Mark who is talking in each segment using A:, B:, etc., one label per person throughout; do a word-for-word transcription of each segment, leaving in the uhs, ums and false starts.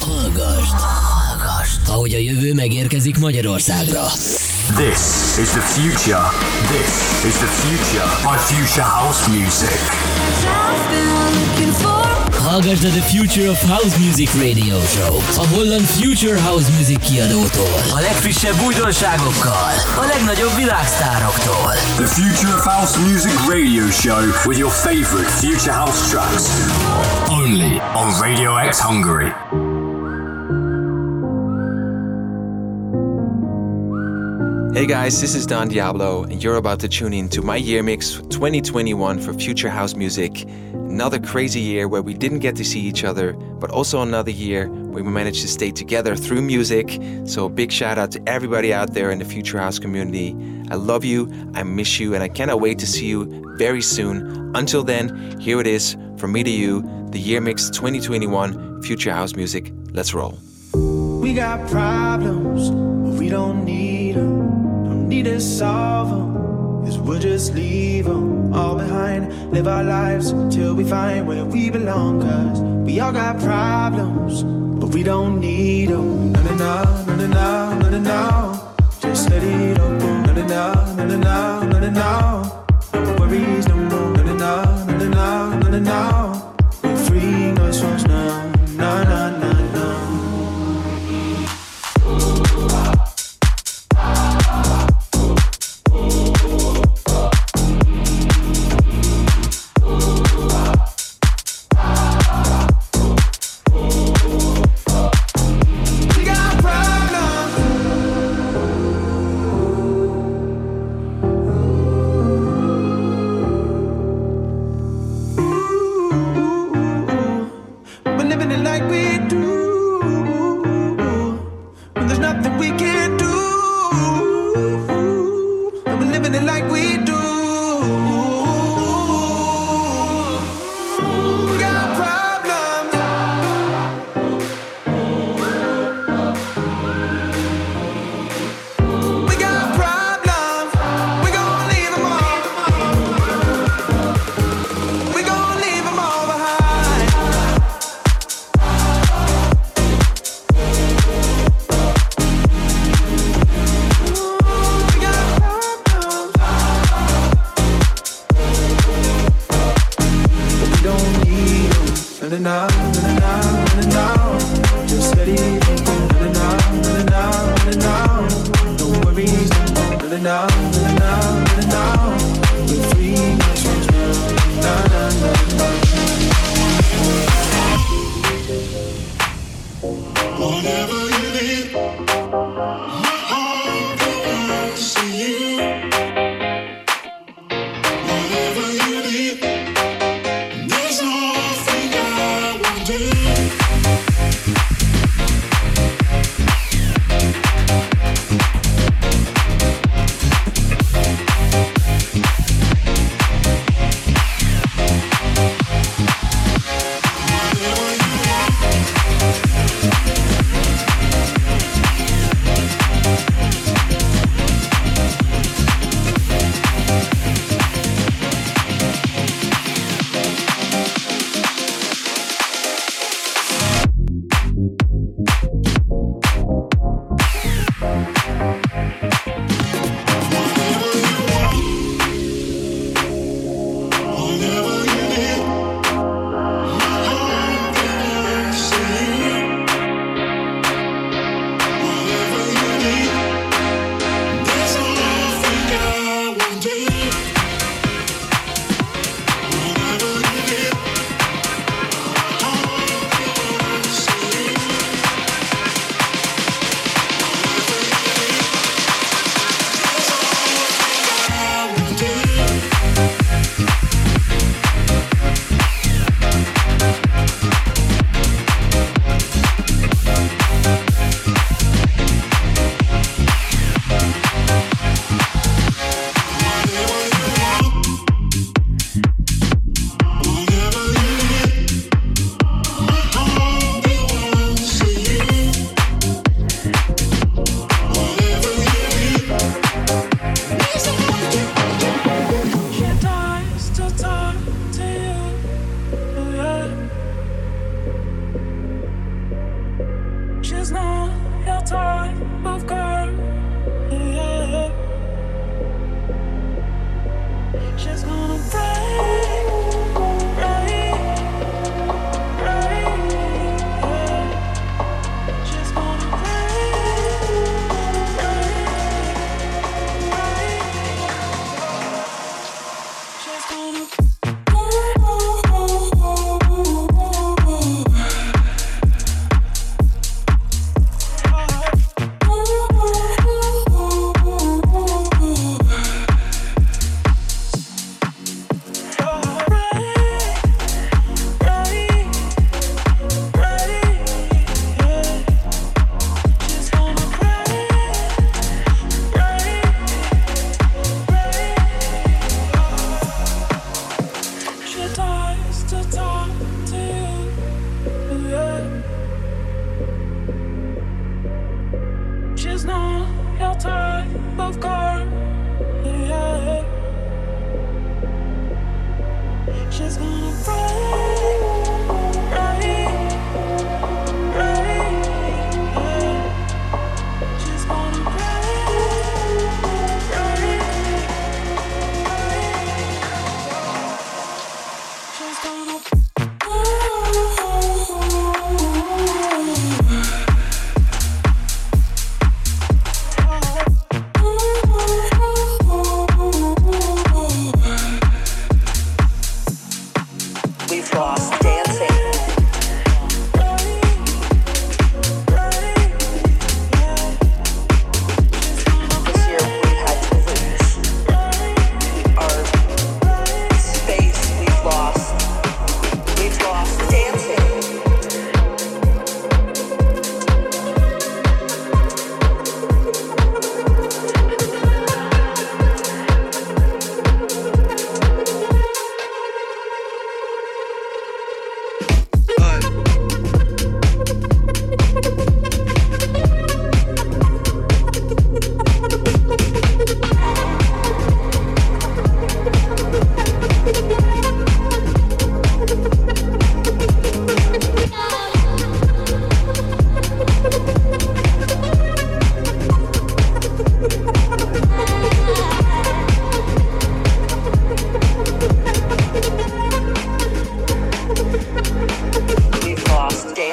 A: Hallgasd, hallgasd, ahogy a jövő megérkezik Magyarországra.
B: This is the future. This is the future by Future House Music.
A: Hallgasd a The Future of House Music Radio Show, a holland Future House Music kiadótól. A legfrissebb újdonságokkal, a legnagyobb világsztároktól.
B: The Future of House Music Radio Show with your favorite Future House tracks. Only on Radio X Hungary.
C: Hey guys, this is Don Diablo, and you're about to tune in to my year mix twenty twenty-one for Future House Music. Another crazy year where we didn't get to see each other, but also another year where we managed to stay together through music. So a big shout out to everybody out there in the Future House community. I love you, I miss you, and I cannot wait to see you very soon. Until then, here it is, from me to you, the year mix twenty twenty-one Future House Music. Let's roll.
D: We got problems, but we don't need them. Don't need to solve them, cause we'll just leave them all behind. Live our lives till we find where we belong. Cause we all got problems, but we don't need them. No, no, no, no, no, no, no, no, no. Just let it all go. No, no, no, no, no, no, no, no, no. No worries no more. No, no, no, no, no, no, no, no, no. We're free, no songs now. No, no, no, no.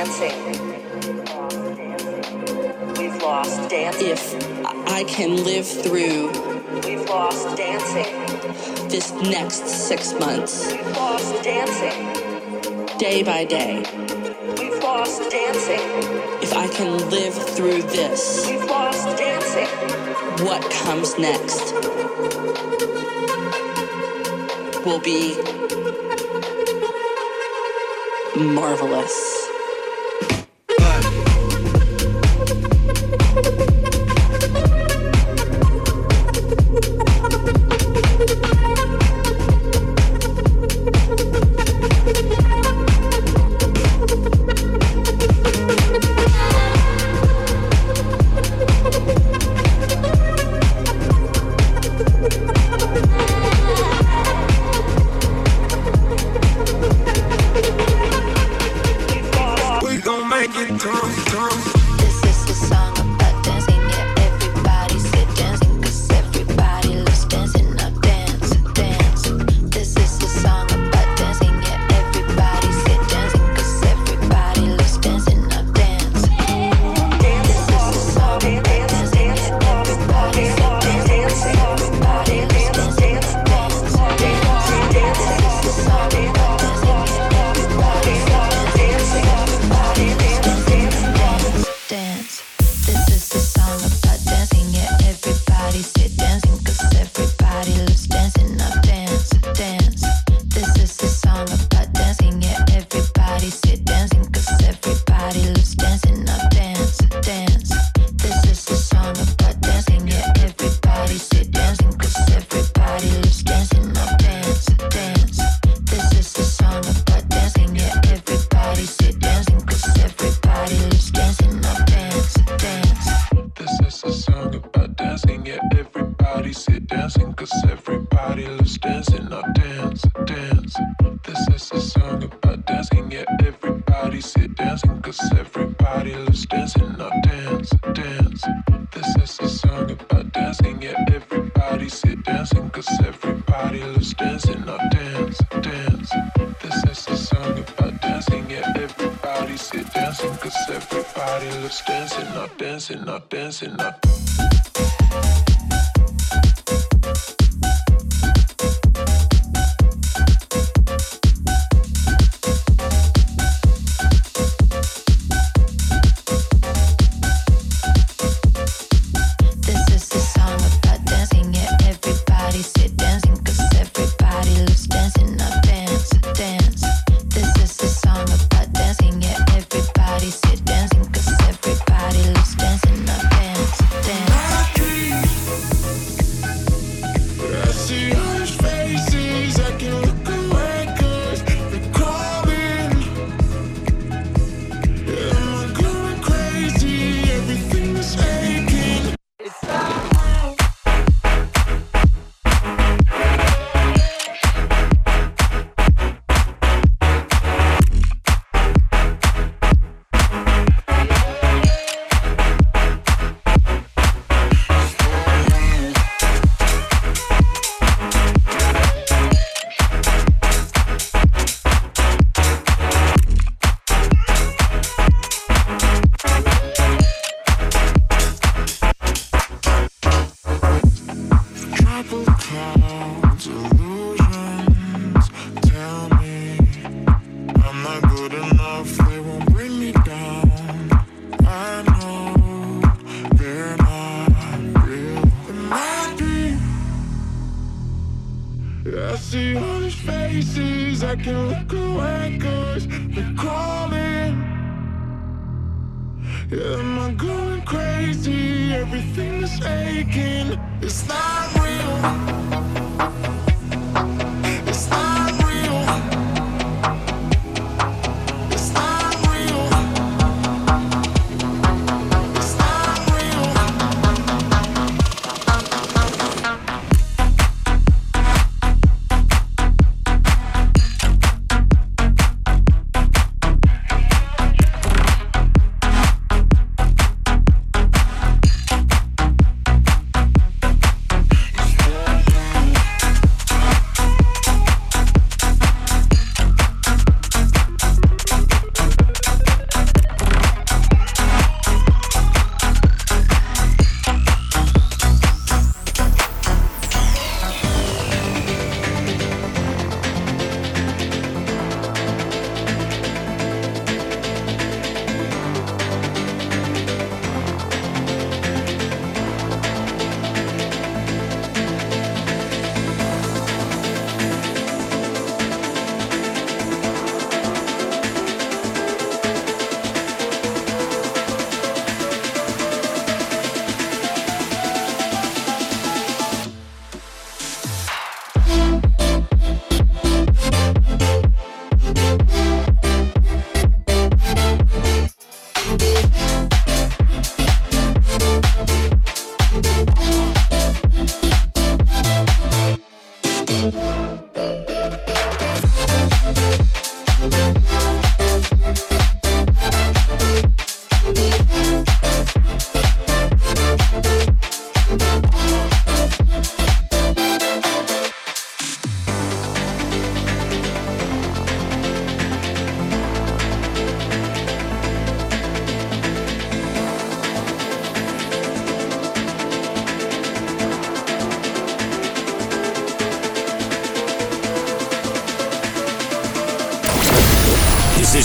E: dancing. We've lost dancing.
F: If I can live through
E: We've lost dancing.
F: this next six months,
E: We've lost dancing.
F: day by day,
E: We've lost dancing.
F: if I can live through this,
E: We've lost dancing.
F: what comes next will be marvelous.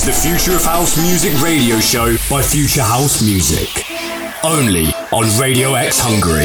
B: is the Future of House Music radio show by Future House Music. Only on Radio X Hungary.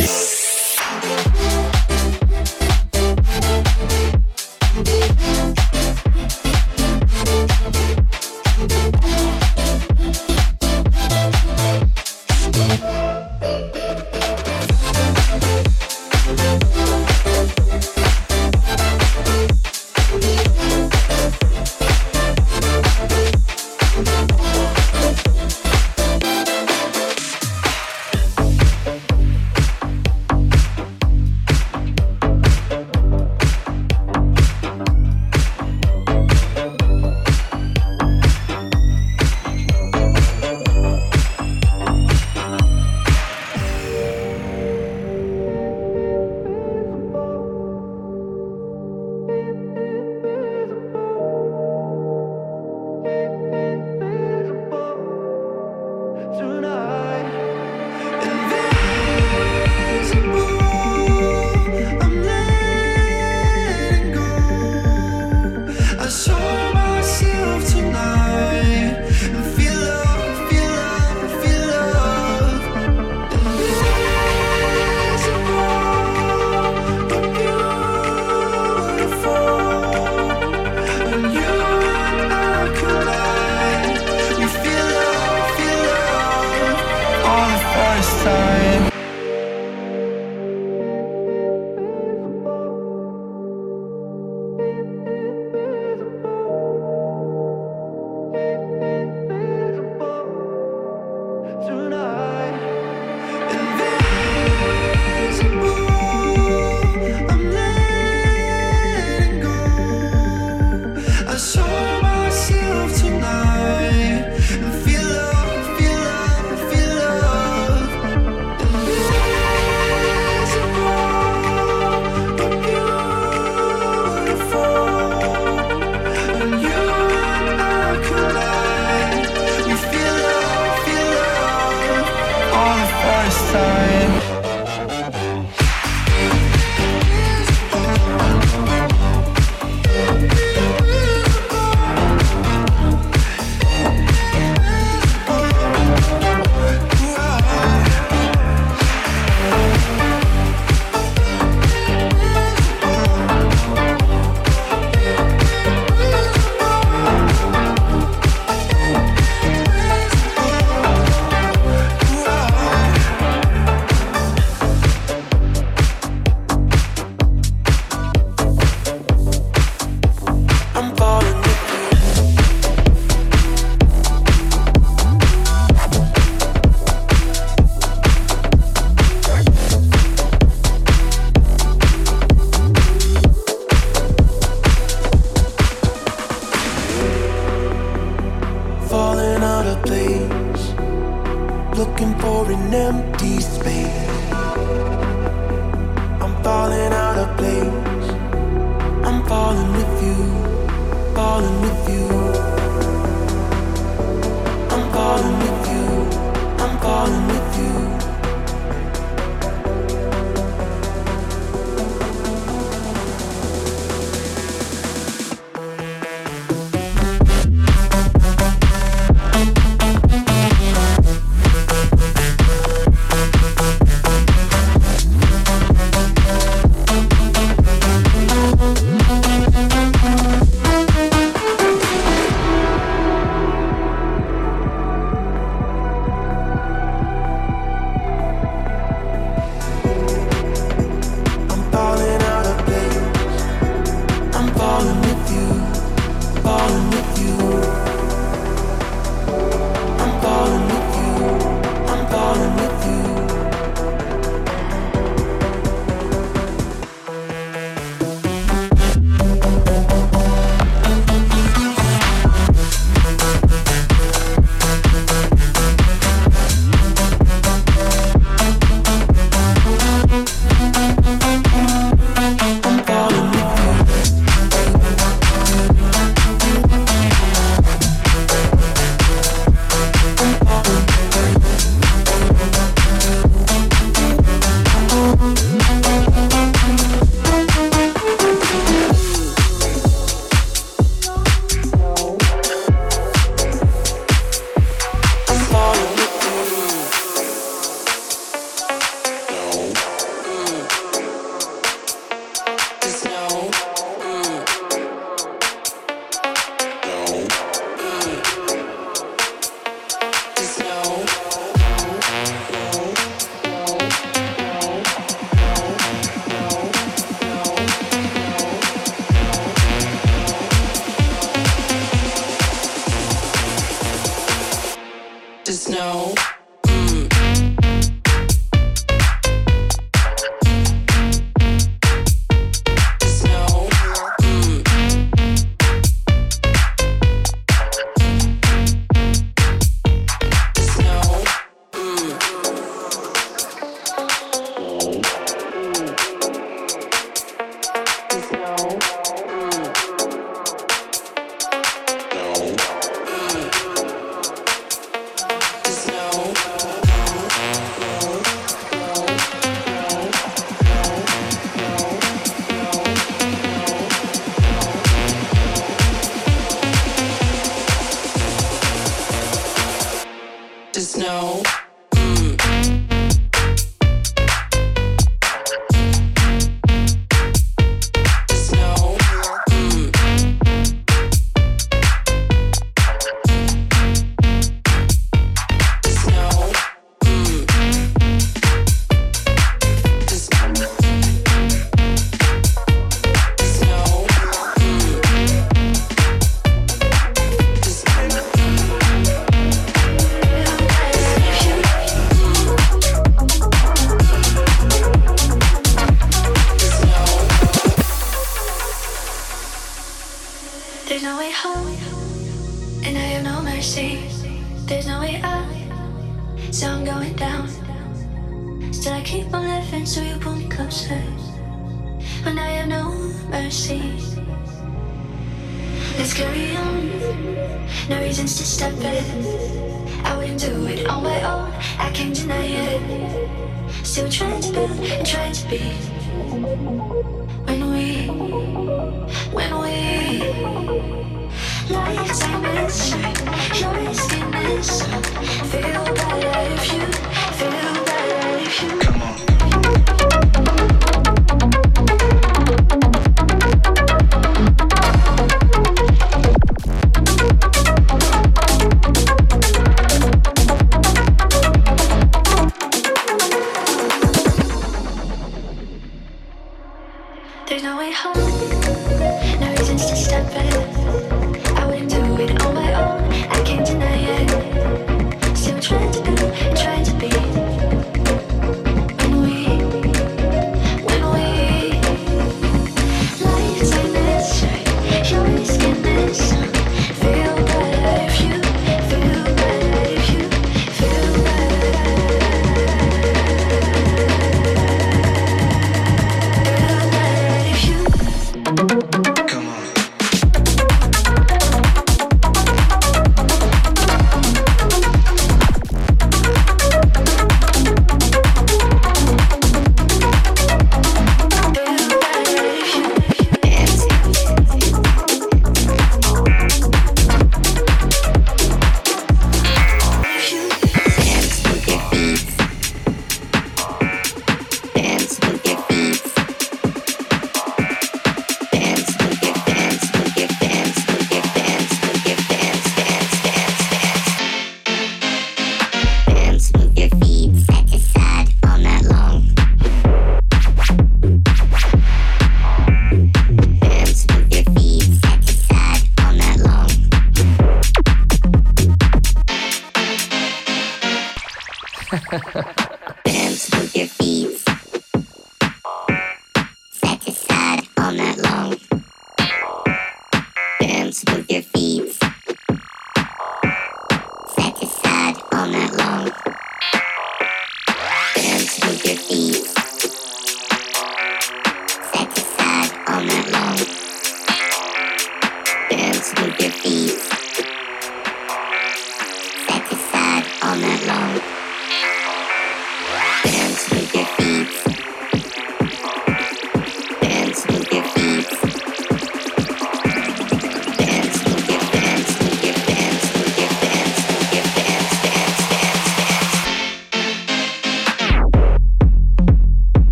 F: Just know.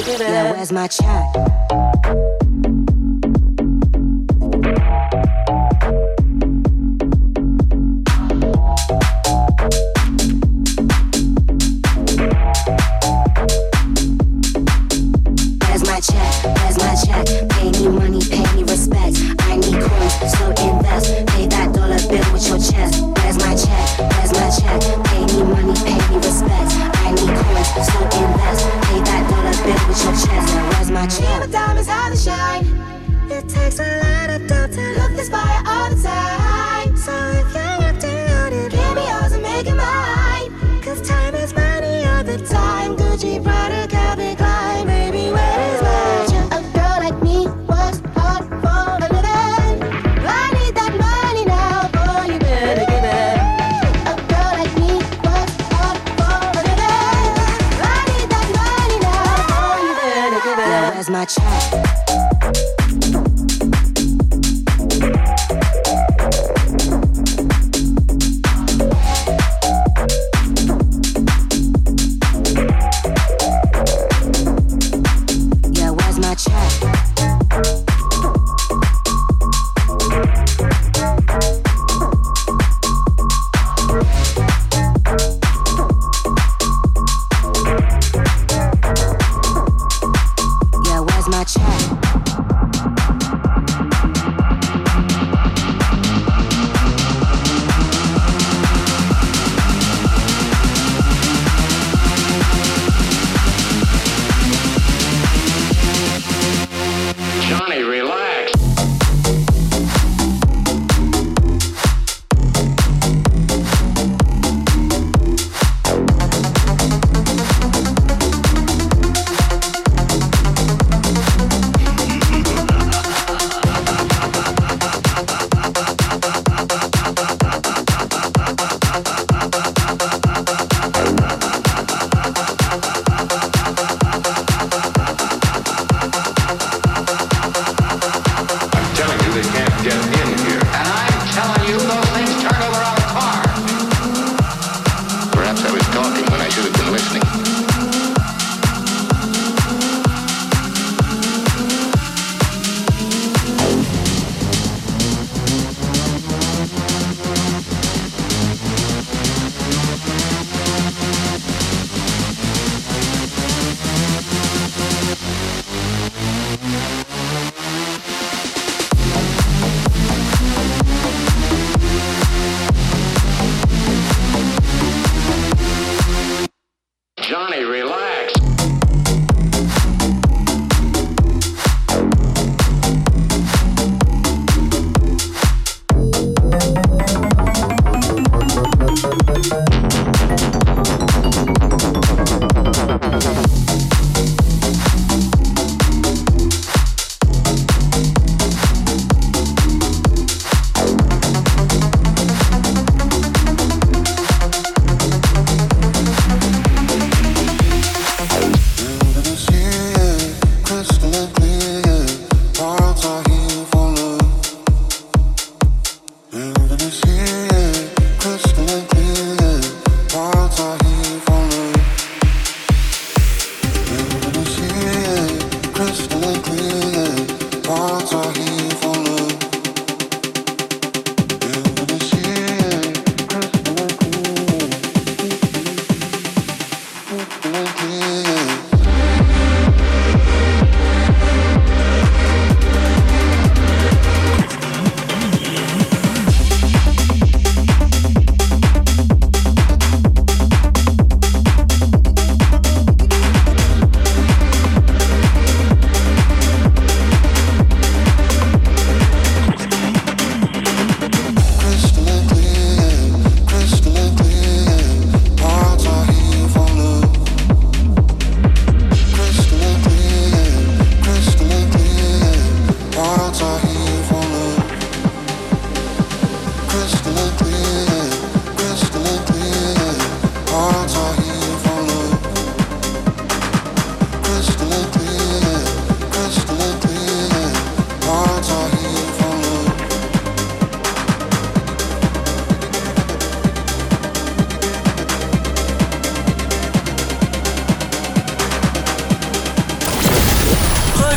G: Yeah, where's my check?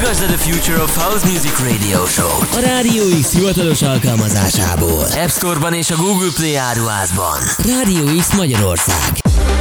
A: Hallgassd a The Future of House Music Radio Show a Radio X hivatalos alkalmazásából, App Store-ban és a Google Play áruházban. Radio X Magyarország.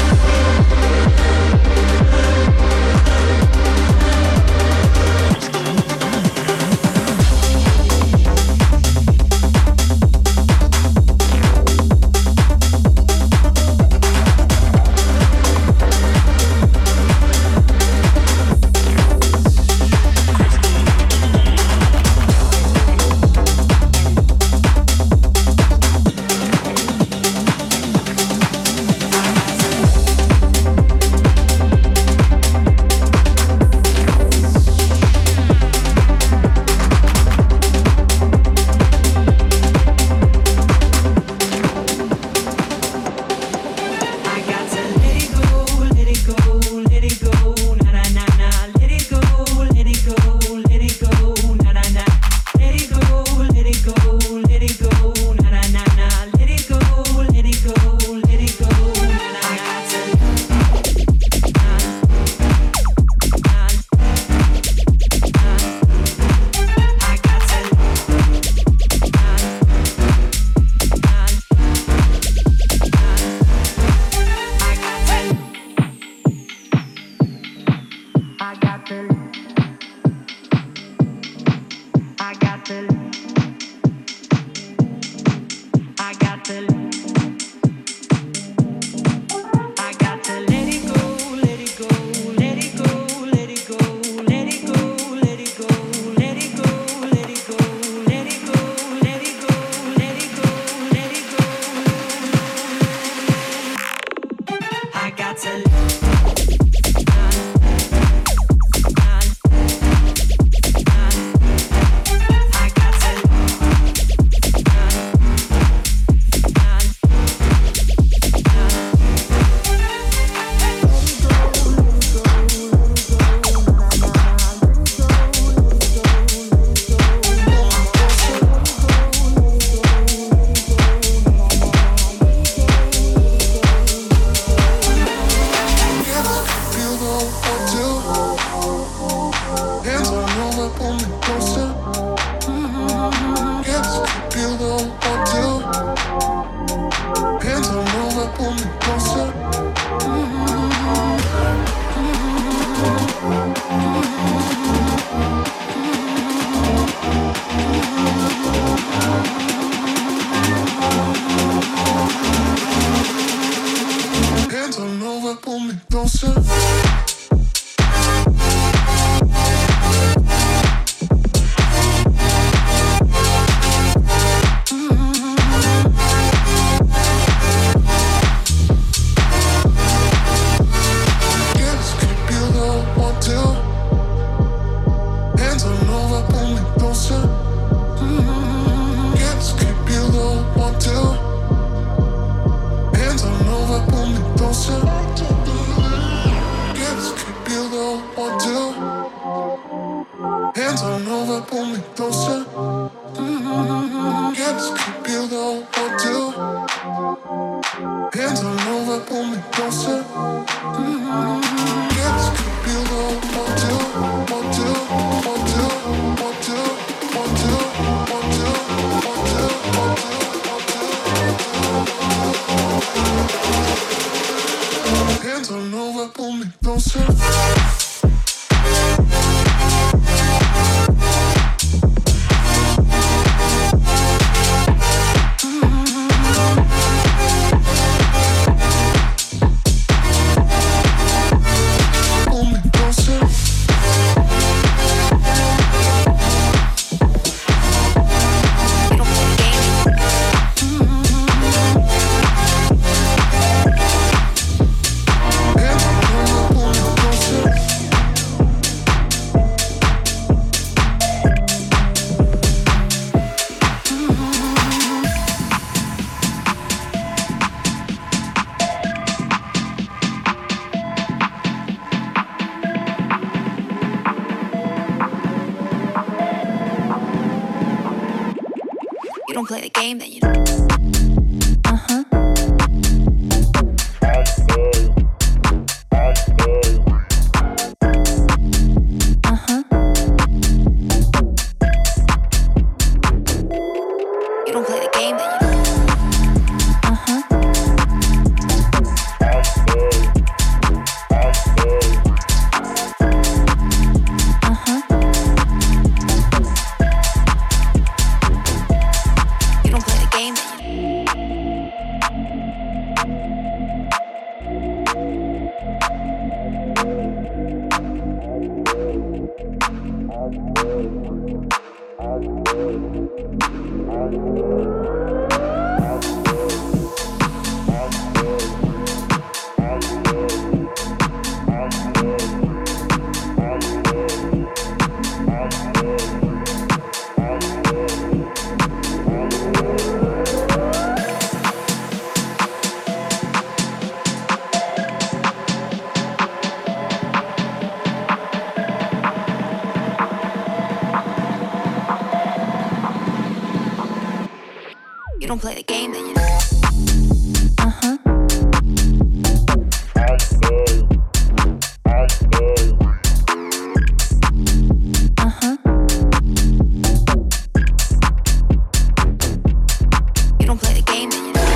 G: don't play the game, then you don't. Uh-huh. Uh-huh. You don't play the game, then you know. Uh-huh. Uh-huh. You don't play the game, then you know.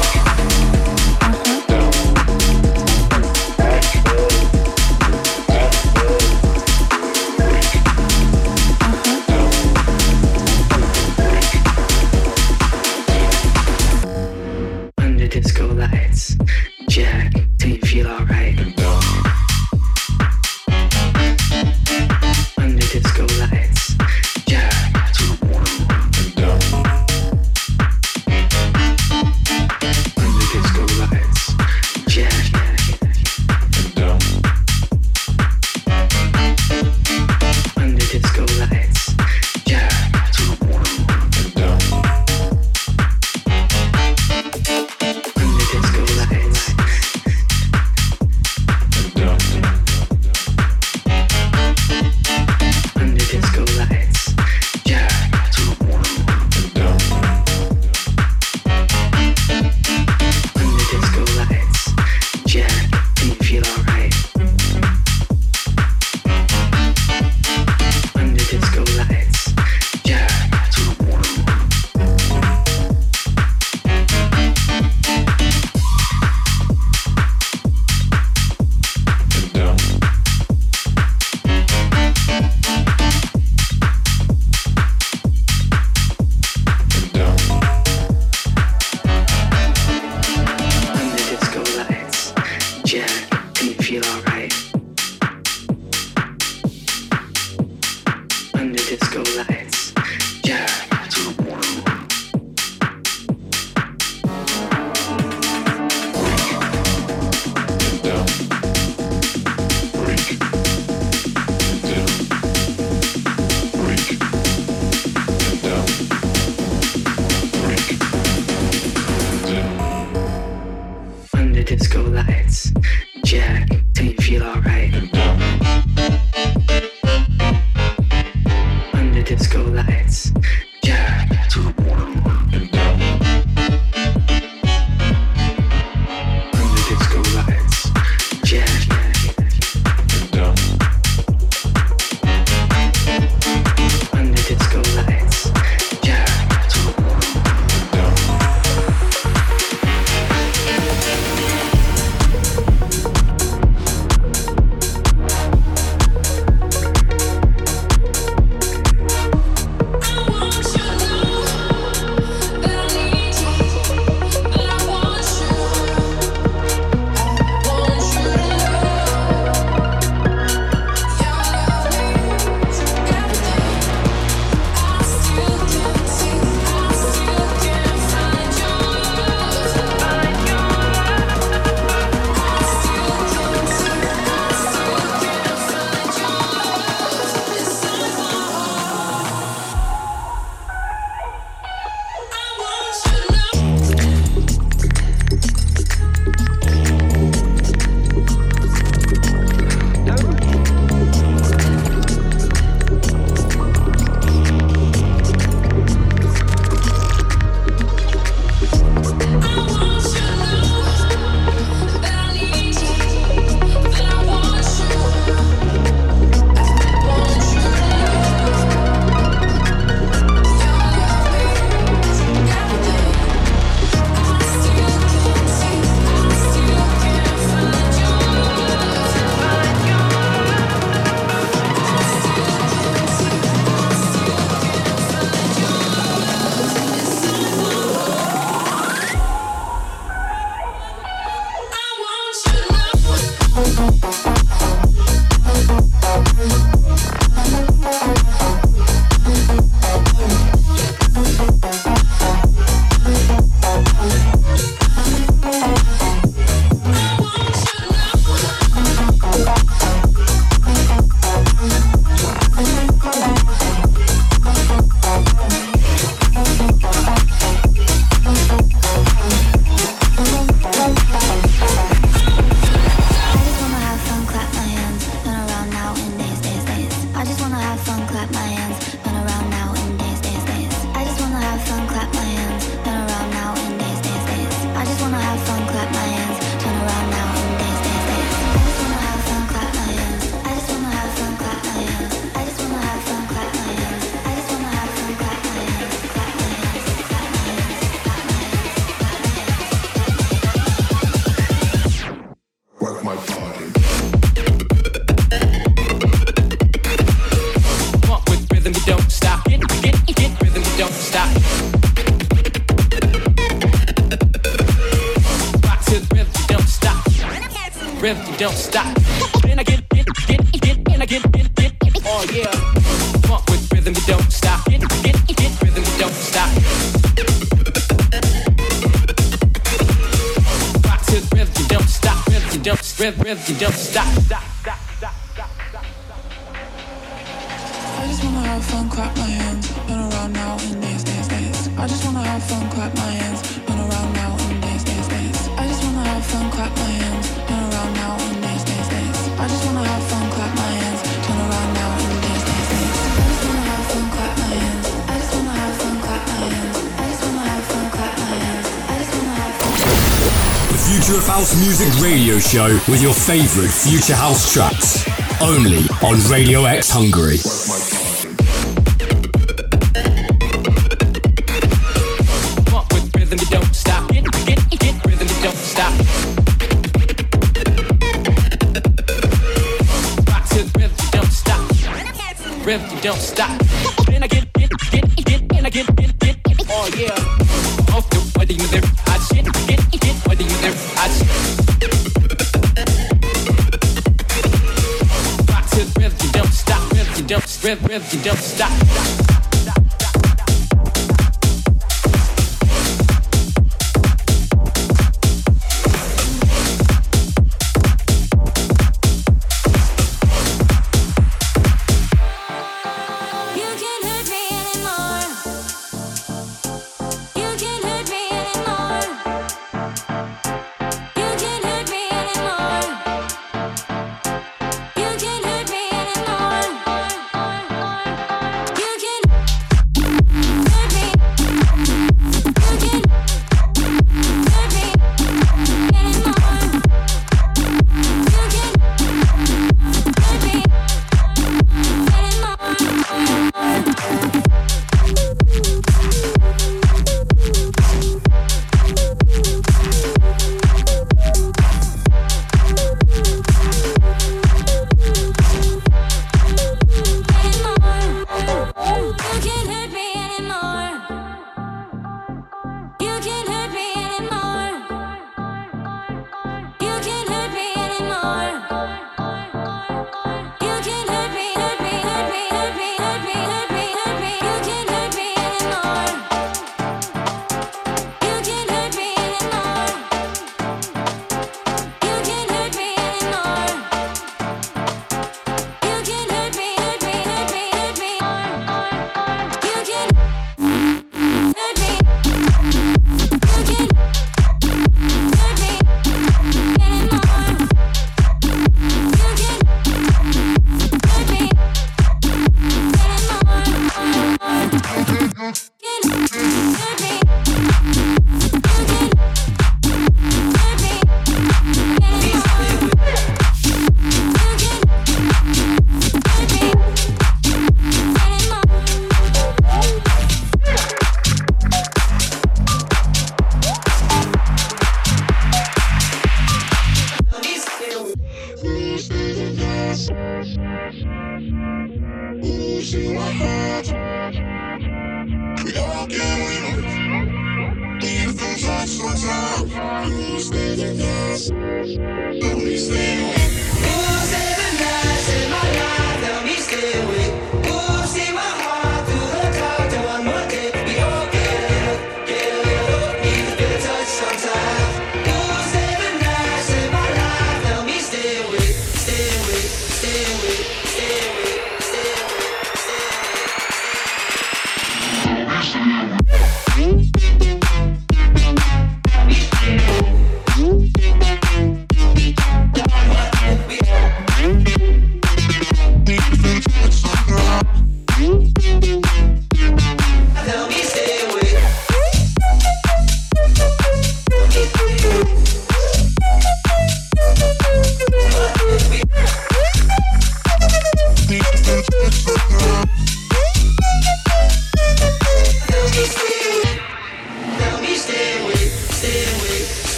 G: clap my hands, turn around now and dance, dance, dance. I just wanna have fun, clap my hands, turn around now and dance, dance, dance. I just wanna have fun, clap my hands, turn around now and dance, dance, dance. I just wanna have fun, clap my hands. I just wanna have fun, clap my hands. I just wanna have fun, clap my hands. I just wanna have fun, clap my hands, clap my hands, clap my hands, clap my hands.
H: Work my body.
I: Walk with rhythm, you don't stop. Get, get, get rhythm, you don't stop. Rock to the rhythm, you don't stop. Rhythm, you don't stop. Then I get, get, get, get, and I get, get, get, oh yeah. Walk with rhythm, you don't stop. Get, get, get rhythm, you don't stop. Rock to the rhythm, you don't stop. Rhythm, you don't, rhythm, rhythm, you don't stop. Stop, stop, stop, stop, stop.
J: I just wanna have fun, clap my hands, turn around now and dance, dance, dance. I just wanna have fun, clap my hands, turn around now and dance, dance, dance. I just wanna have fun, clap my hands, turn around now and dance, dance, dance. I just wanna have fun, clap my hands, turn around now and dance, dance, dance. I just wanna have fun, clap my hands. I just wanna have fun, clap my hands. I just wanna have fun, clap my hands. I just wanna have fun.
B: The Future of House Music radio show with your favorite future house tracks. Only on Radio X Hungary.
I: Walk with rhythm, you don't stop. Get, get, get rhythm, you don't stop. Rock to the rhythm, you don't stop. Rhythm, you don't stop. Then I get, get, get, get, and I get, get, get, oh yeah. Off the body, you there, I shit, get, get, body, you there, I shit. Rock to the rhythm, you don't stop. Rhythm, you don't, rhythm, rhythm, you don't stop.
G: You can't hurt me anymore. You can't hurt me anymore. You can't hurt me anymore. You can't hurt me anymore. You can hurt me. You can hurt me anymore. You can hurt me
H: What?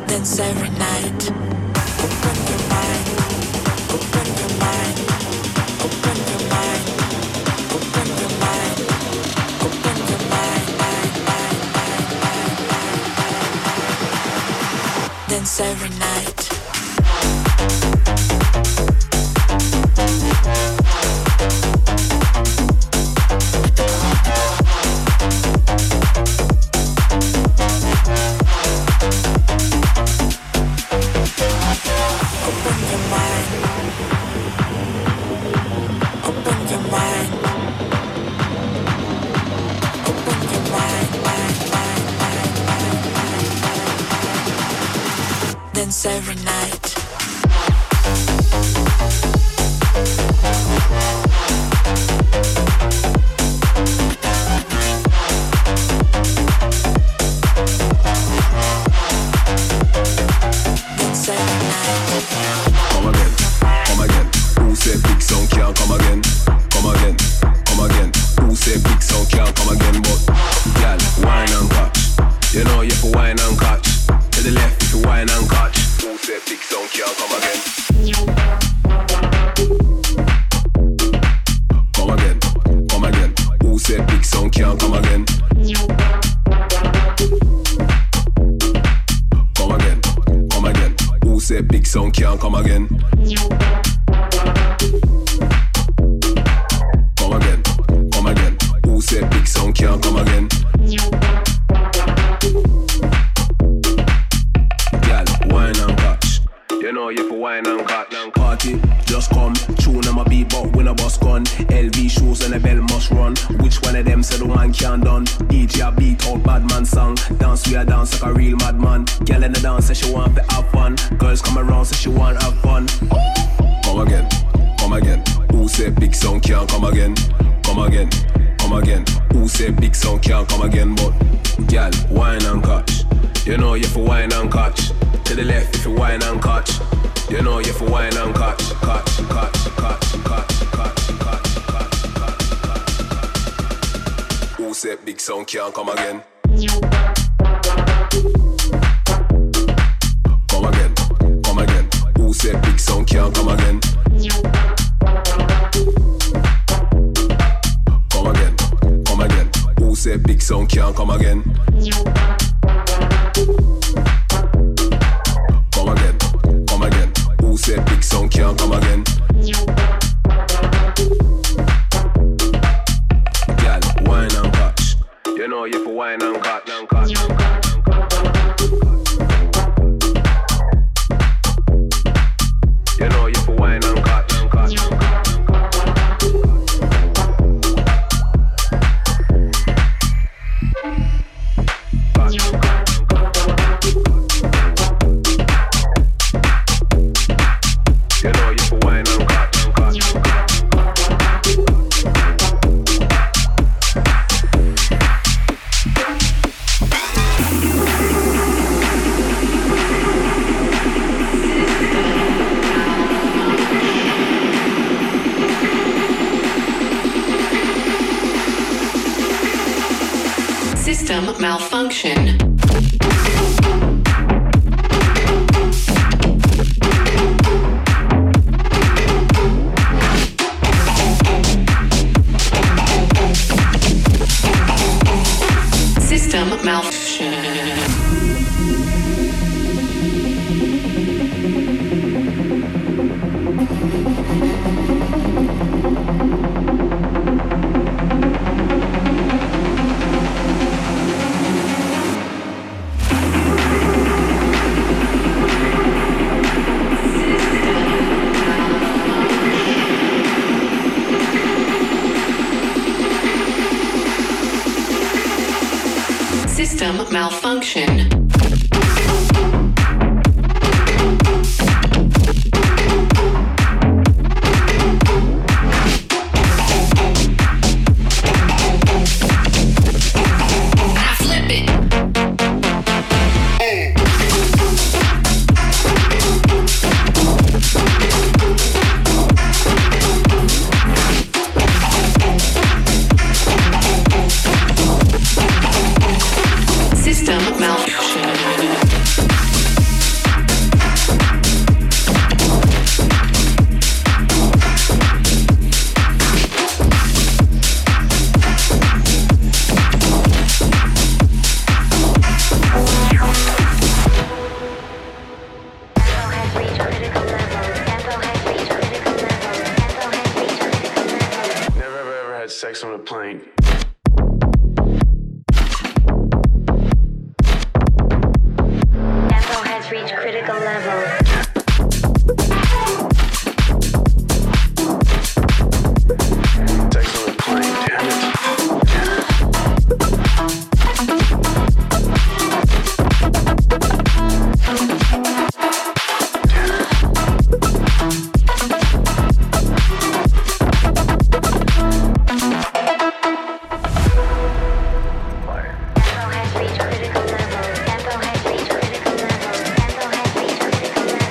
J: dance every night. Open your mind, open your mind, open your mind, open your mind, open your mind, mind, mind, mind, mind. Dance every night. Dance every night.
H: Sound can't come again. Come again, come again. Who said big sound can't come again? Girl, wine and catch. You know you for wine and catch. Party, just come. Tune on my beat, but when a boss gone. L V shoes and a bell must run. Which one of them said the one can't done? D J a beat out bad man song. Dance we a dance like a real madman. Girl in the dance say she want to have fun. Girls come around say she want to have fun. Come again, come again. Who say big sound can't come again? Come again, come again. Who say big sound can't come again? But girl, wine and catch. You know you for wine and catch. To the left if you wine and catch. You know you for wine and catch, catch, catch, catch, catch, catch, catch, catch, catch. Who said big sound can't come again? Come again, come again. Who said big sound can't come again? Come again, come again. Who said big sound can't come again? Come again, come again. Who said big sound can't come again? Girl, wine and catch. You know you for wine and catch, and catch, and catch, and catch. You know you for wine and catch, and catch, and catch.
K: System malfunction. System malfunction. System malfunction. System malfunction.
L: Text on the plane.
G: Tempo has reached critical level.
L: Text on the plane, damn it.
G: Tempo has reached critical level. Tempo has reached critical level. Tempo has reached critical level.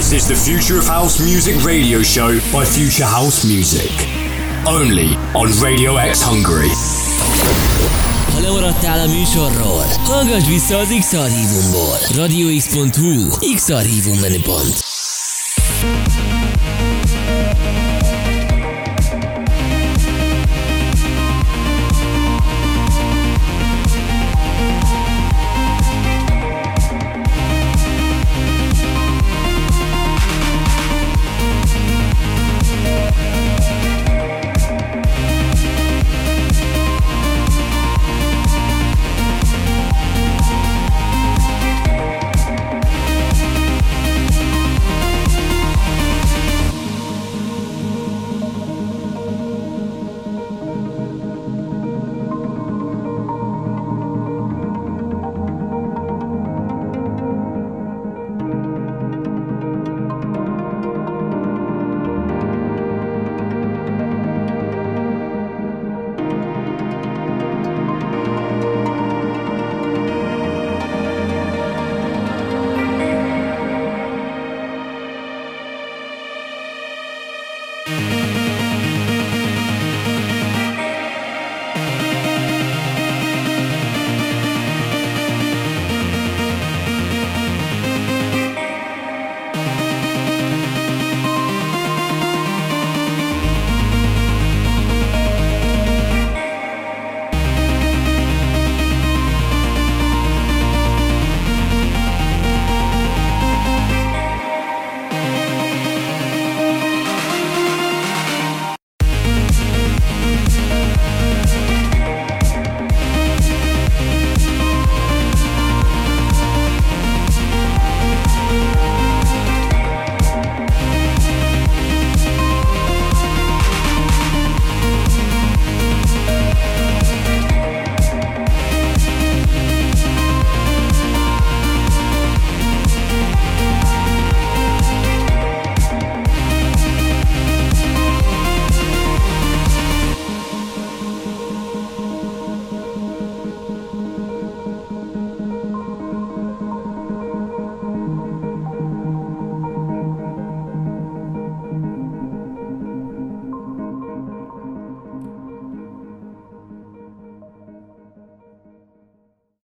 B: This is the Future of House Music radio show by Future House Music. Only on Radio X Hungary.
A: Ha lemaradtál a műsorról, hallgass vissza az X-Archívumból. radio x pont hu X-Archívum menüpont.